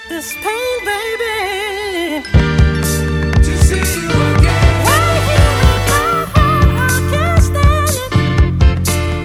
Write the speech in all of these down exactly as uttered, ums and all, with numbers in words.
this pain, baby. To see you again. Right here in my heart, I can't stand it.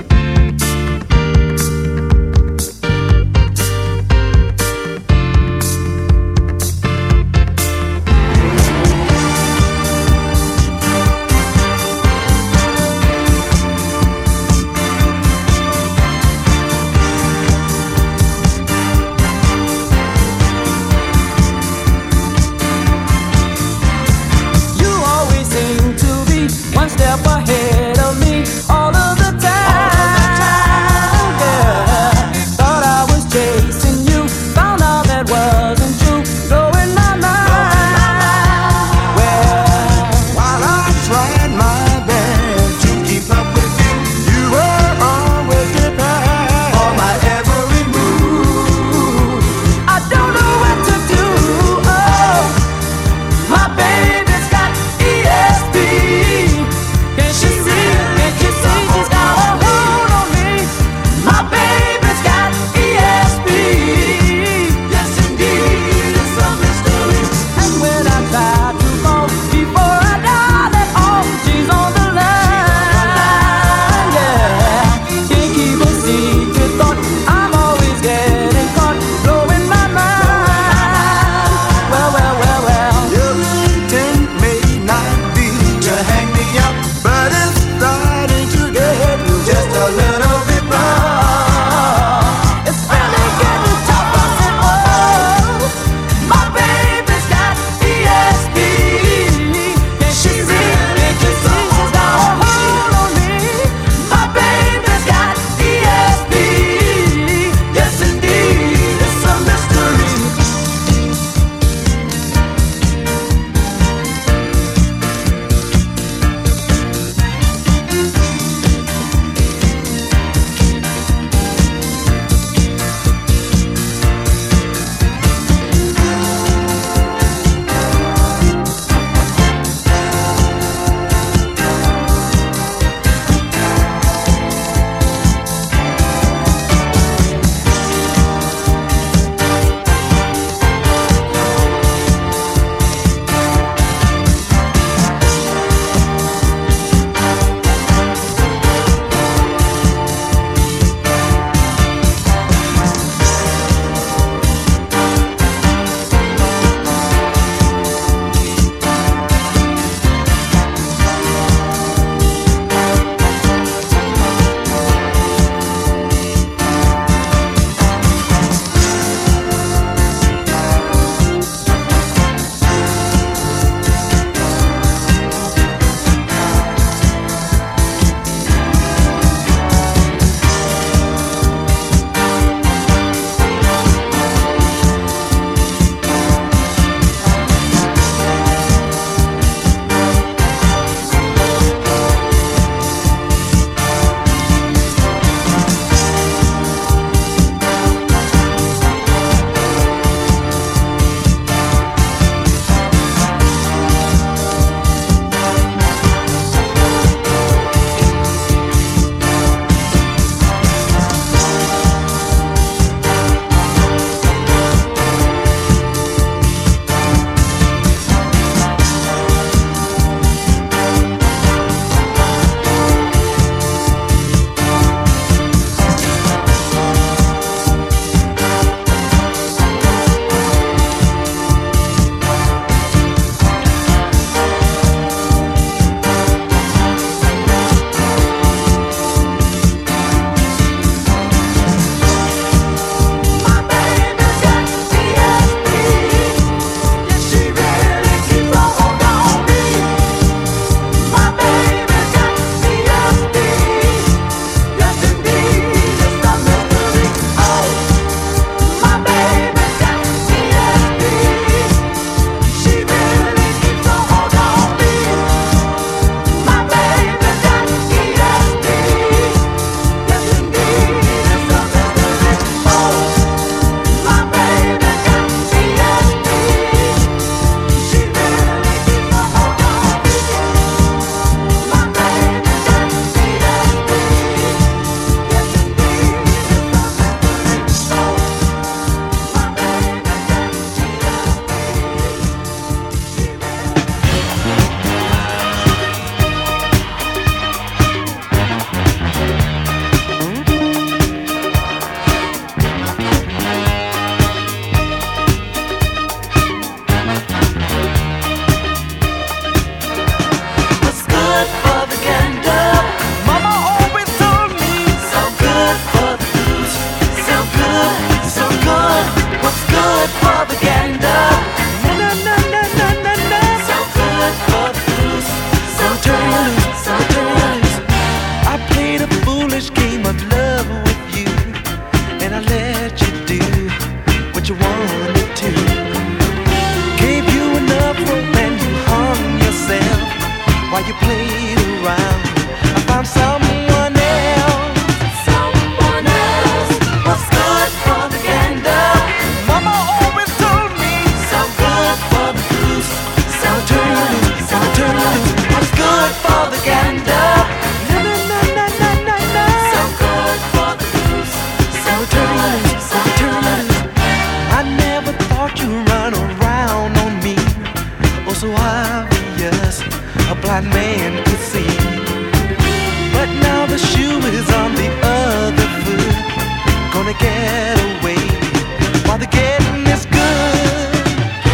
blind man could see. But now the shoe is on the other foot. Gonna get away while the getting is good.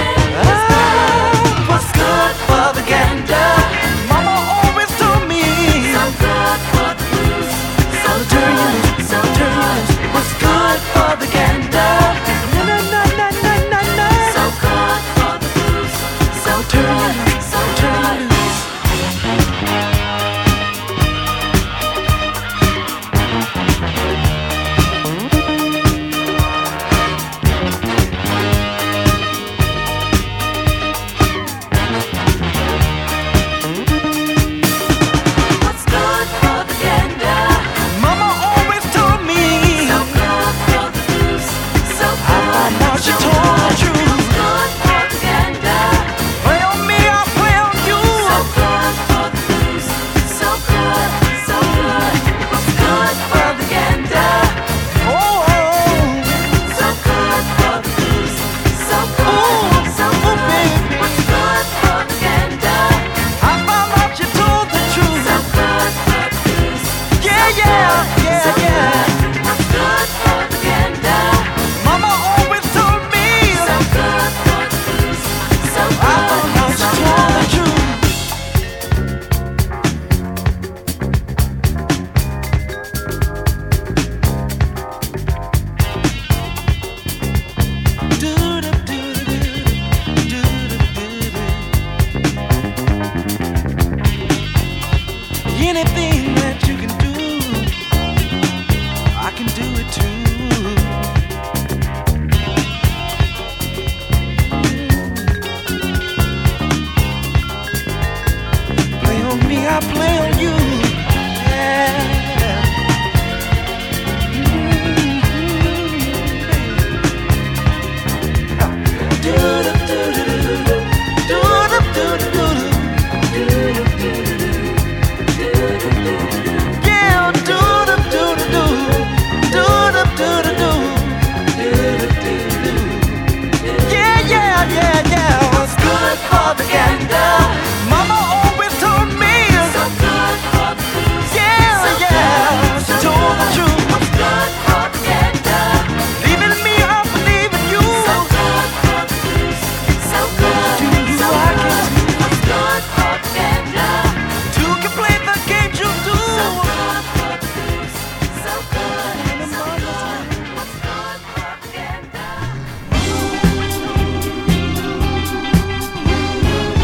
Ah, what's good for the gander? Mama always told me. So good for the blues. So Turn you good, loose, so turn you good. loose. What's good for the gander? Na na na na na na na. So good for the blues. So Turn you good, loose, so turn you good. loose. What's good for the gander? Mama always told me. So good for the blues. So I found good, out she so told the good. truth. Good for the gander. Play on me, I'll play on you. So good for the blues. So good, so good. What's good for the gander? Oh, oh, So good for the blues. So Ooh, good, so ooh, good. baby. What's good for the gander? I found out you told the truth. So good for the blues. Yeah, yeah, yeah, So yeah. good. What's good for the gander? Mama always told me. So good for the blues. So I found out good, so you told the good. truth. Anything that you can do, I can do it too. Play on me, I play on you. Yeah. Yeah, yeah, yeah, yeah, yeah. What's good for the gander? Mama always told me. So good for the blues. Yeah, So yeah. good, She so told the good. truth. What's good for the gander? Leaving me, I believe in you. So good for the blues. So good, Do so I good. can- What's good for the gander? Two can play the game you do. So good for the blues. So good, so good. What's good for the gander?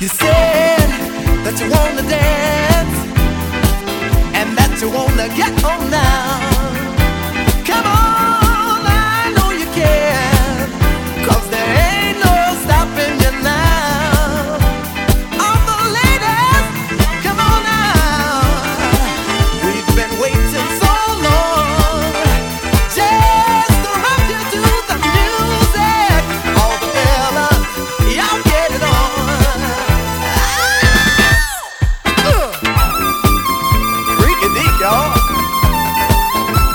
You said that you wanna dance and that you wanna get on now. Come on, I know you can, 'cause there ain't no stopping you now. All the ladies, come on now. We've been waiting so long just to rock you to the music. All the fellas, y'all get it on. Freaky deep, y'all.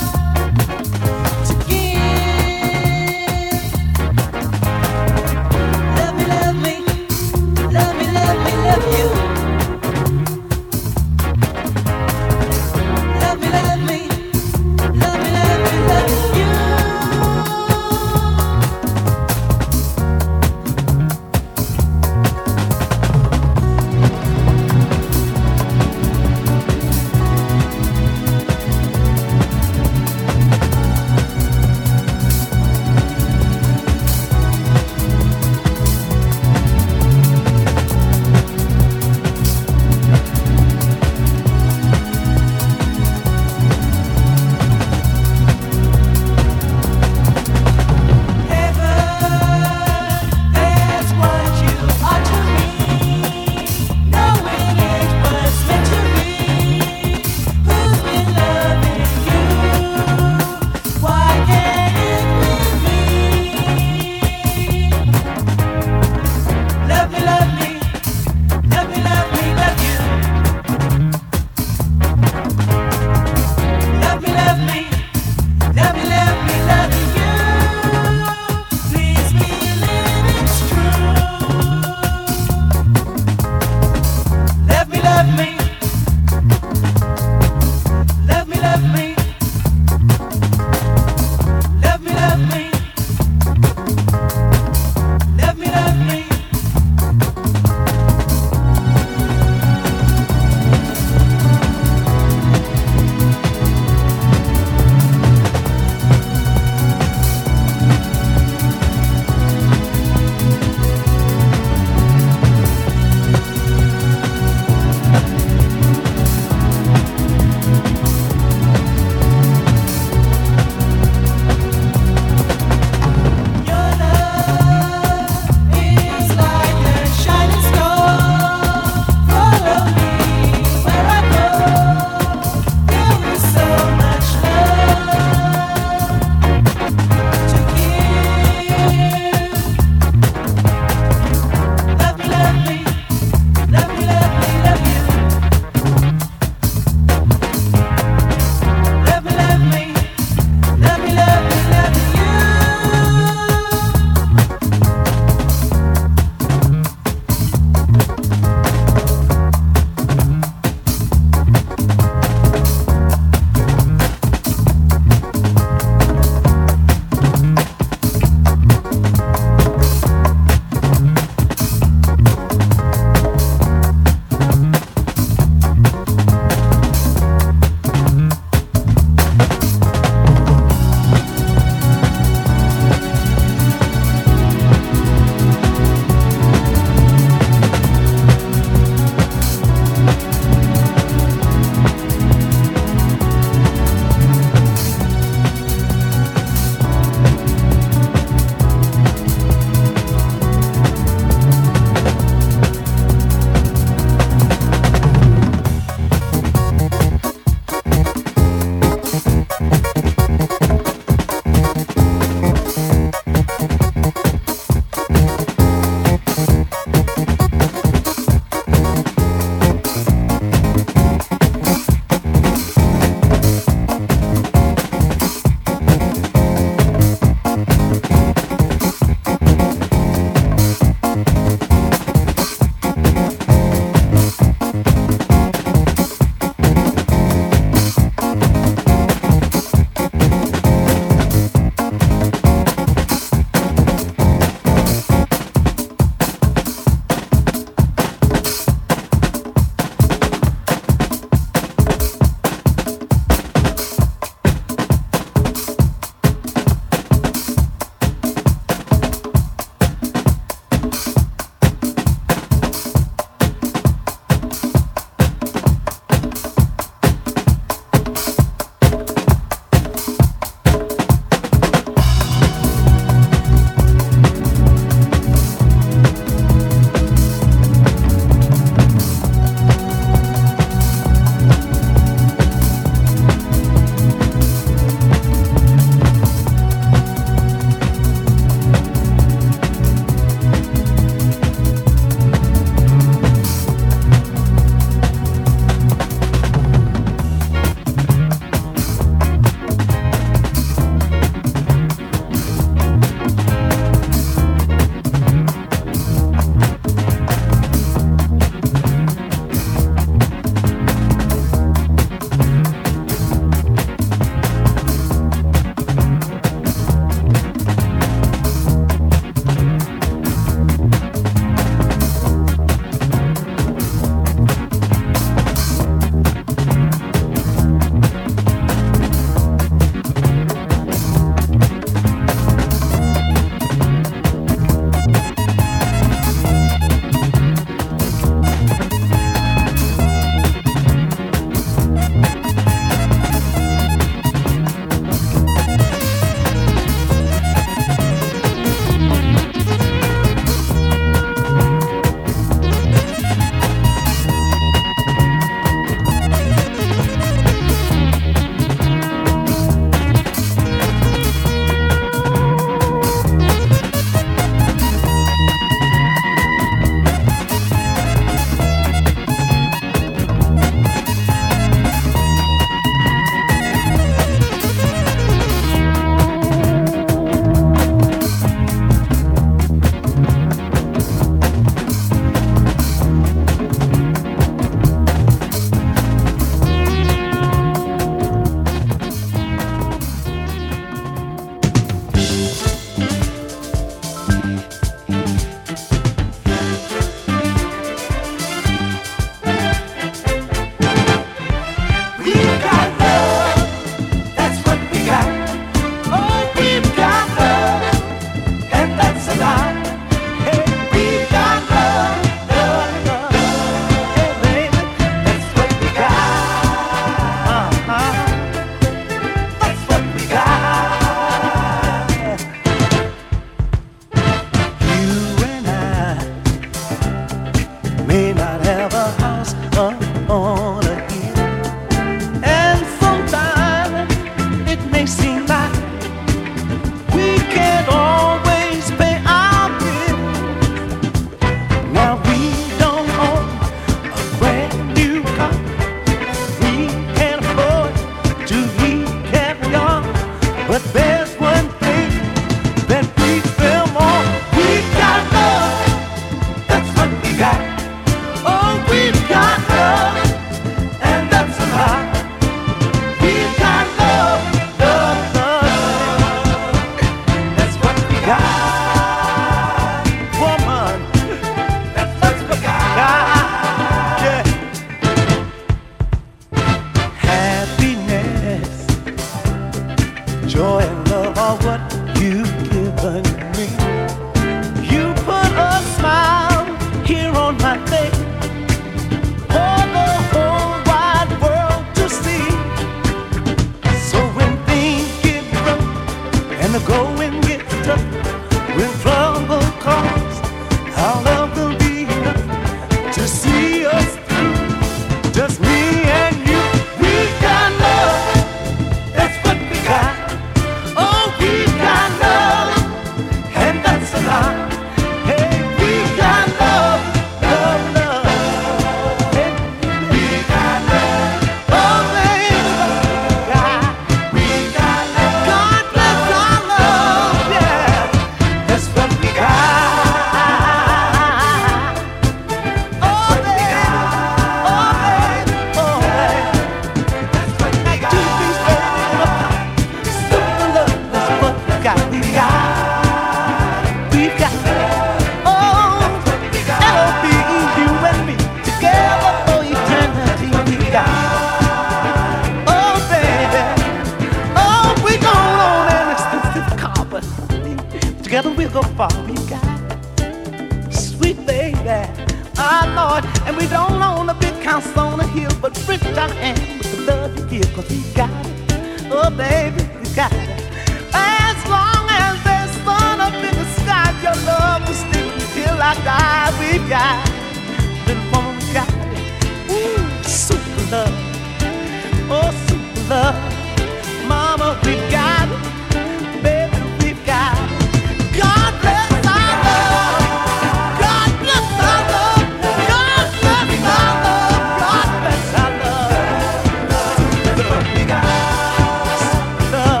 baby. Our Lord, and we don't own a big house on a hill, but rich I am with the love you give, cause we got it. Oh, baby, we got it. As long as there's sun up in the sky, your love will stick till I die. We got it. Little woman, we got it. Ooh, super love. Oh, super love. Mama, we got it. Baby, we got it. God bless our love. God bless our love. God bless our love. God bless our love. Love we got. Love.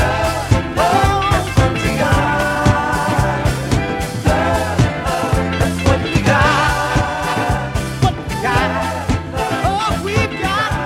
Oh, we got. That's what we got. What we got. Oh, we got.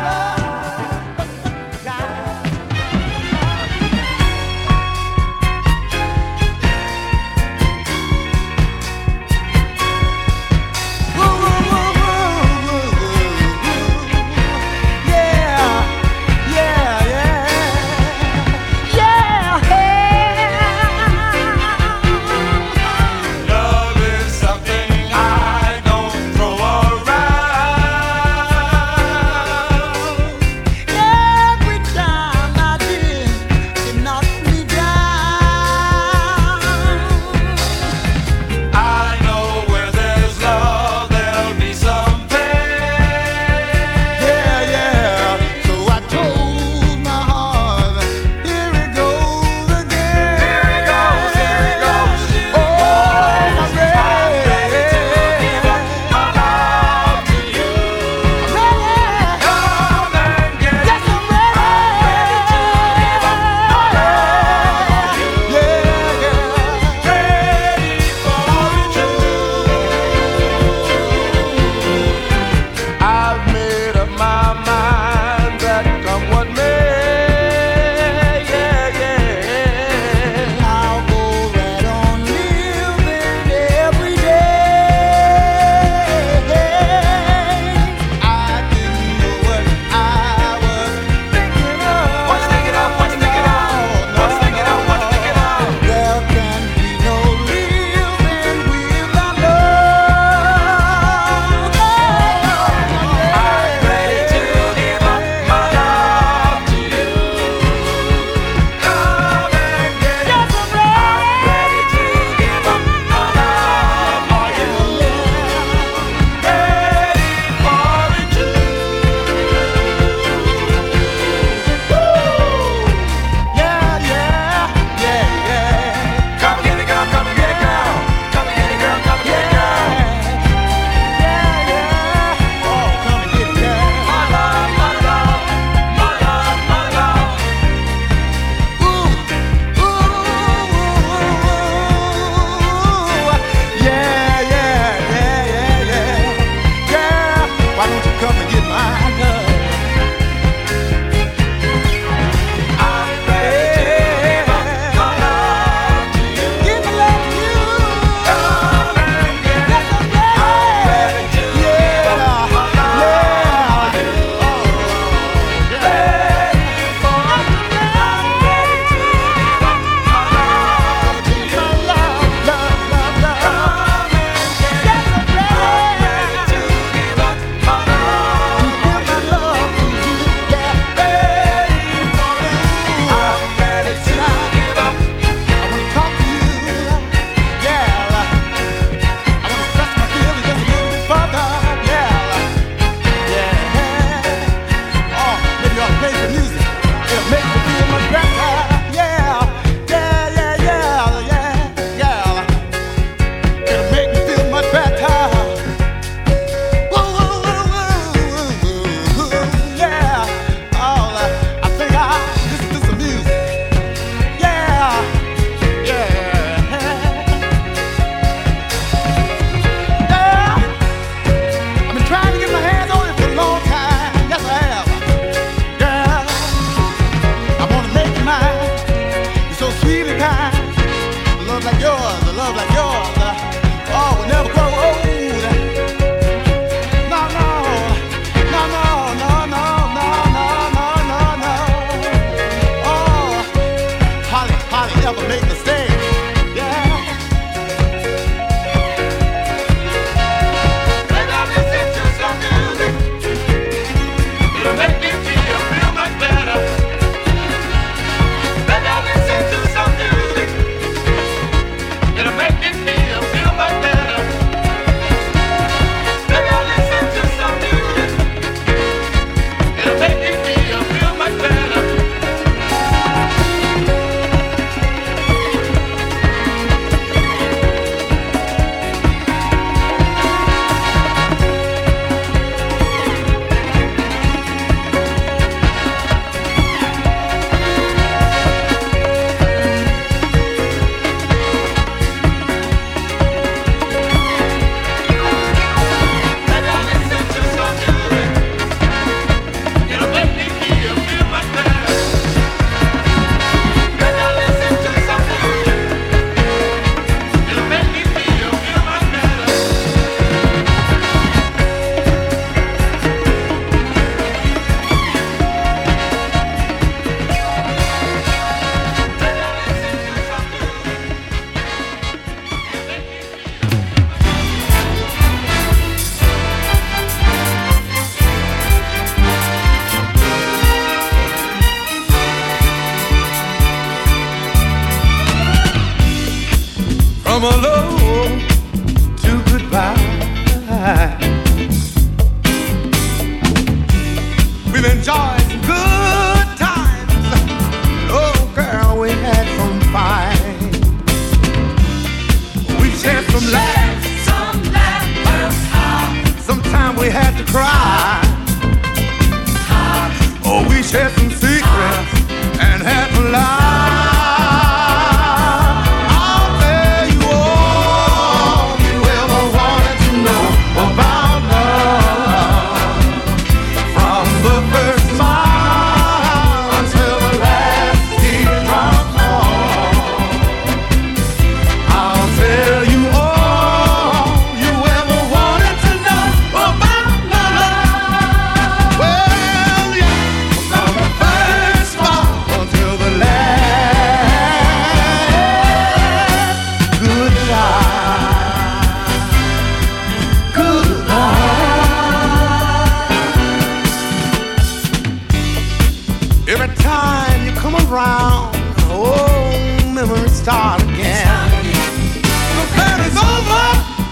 start again. The plan is over.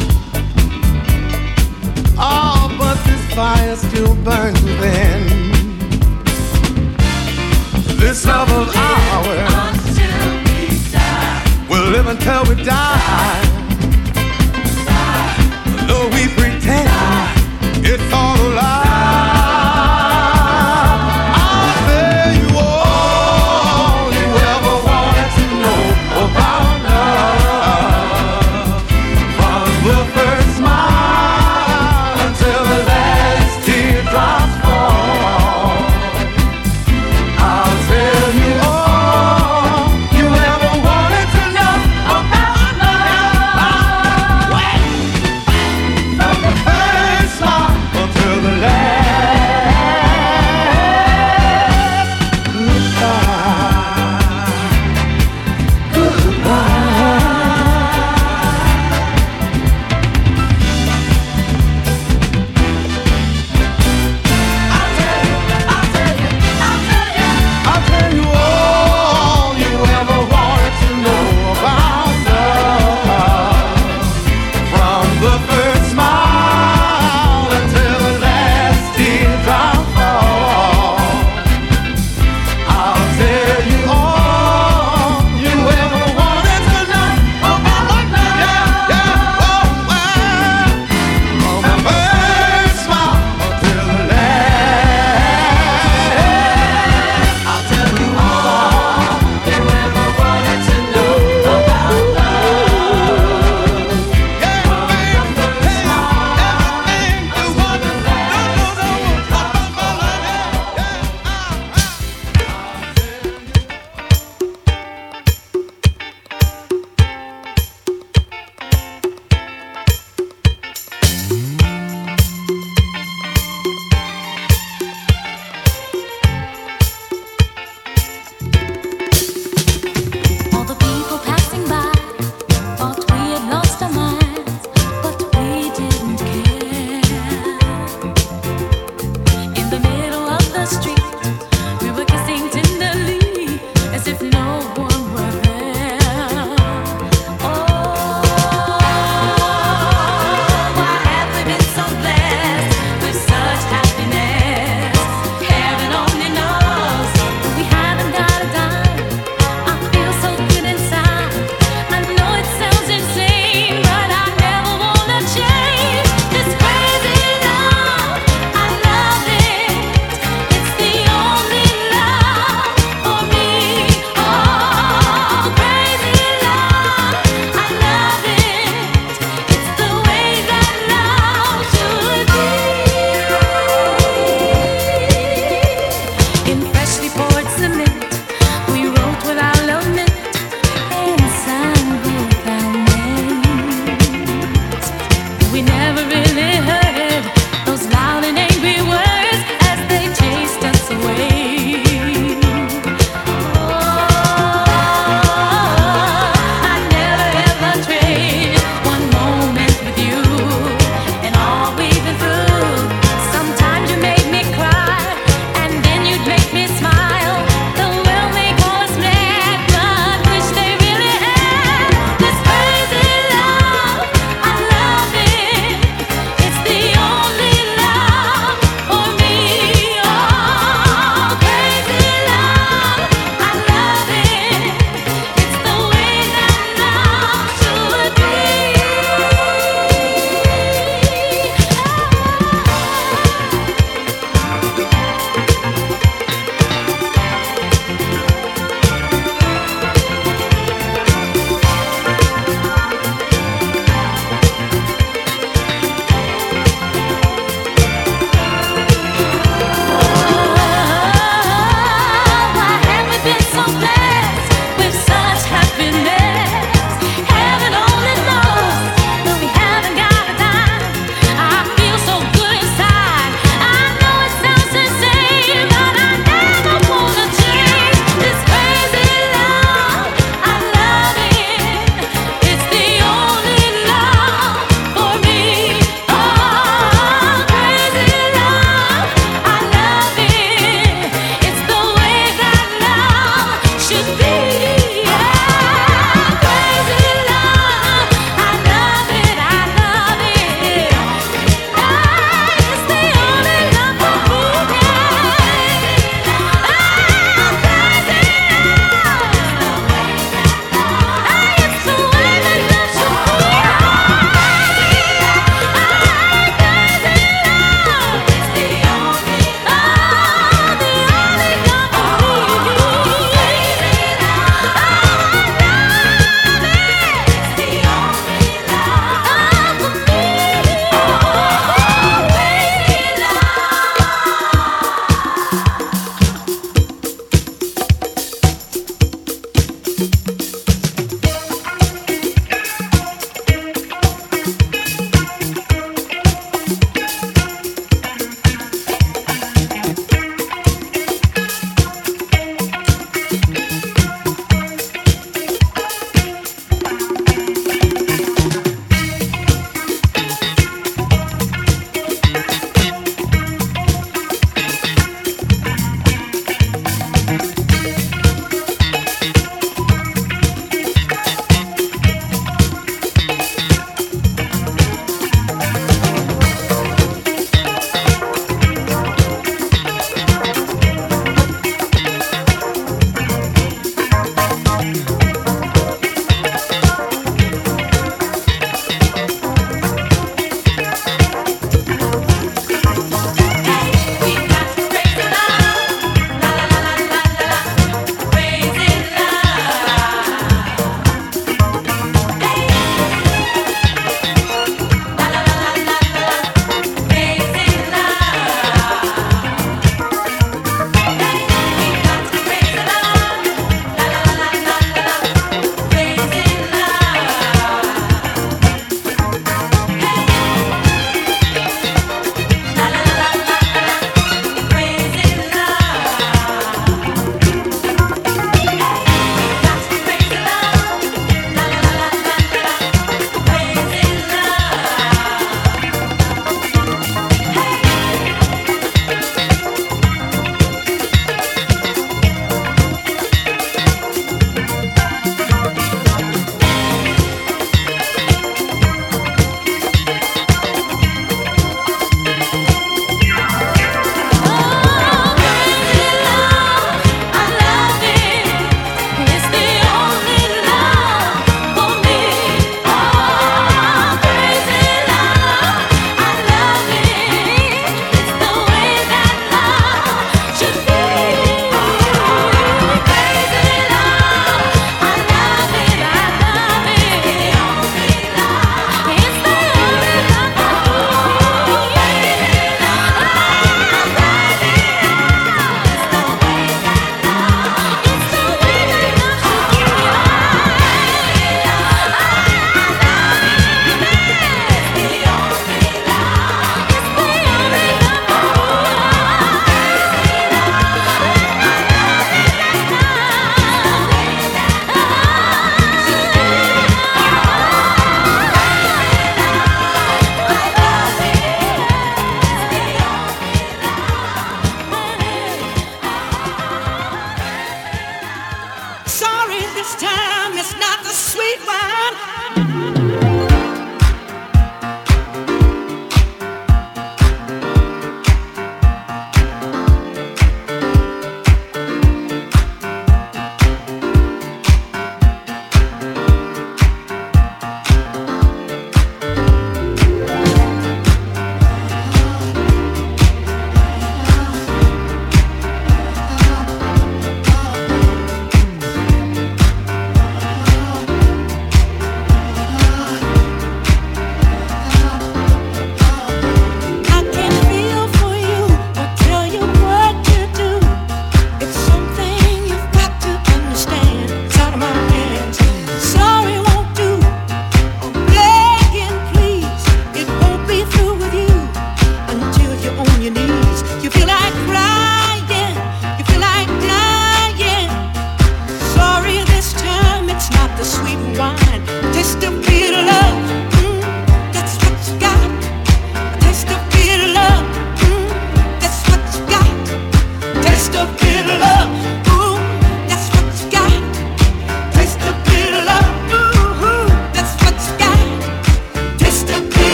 Oh, but this fire still burns within. This love of ours, Until we die. we'll live until we die. Though we pretend it's all a lie. I'll tell you all you ever wanted to know about love. From the first smile until the last teardrops fall. I'll tell you all you ever wanted to know about love. From the first smile until the last I'll tell you all you ever wanted to know about love. From the first smile until the last teardrop fall. I'll tell you all you ever wanted to know about love. Yeah, yeah, oh, well. From the first smile until the last. I'll tell you all you ever wanted to know about love. Yeah, baby, tell you everything you want to know, know, know about my love. Yeah, All the people passing by thought we had lost our minds, but we didn't care. In the middle of the street, we were kissing tenderly, as if no one were there. Oh, why have we been so blessed with such happiness? Heaven only knows we haven't got a dime. I feel so good inside. I know it sounds insane, but I never wanna change this crazy love. I love it. It's the only love for me. Oh, crazy love. I love it. It's the way that love should be. In freshly poured cement, we wrote what our love meant and signed both our names. We never really heard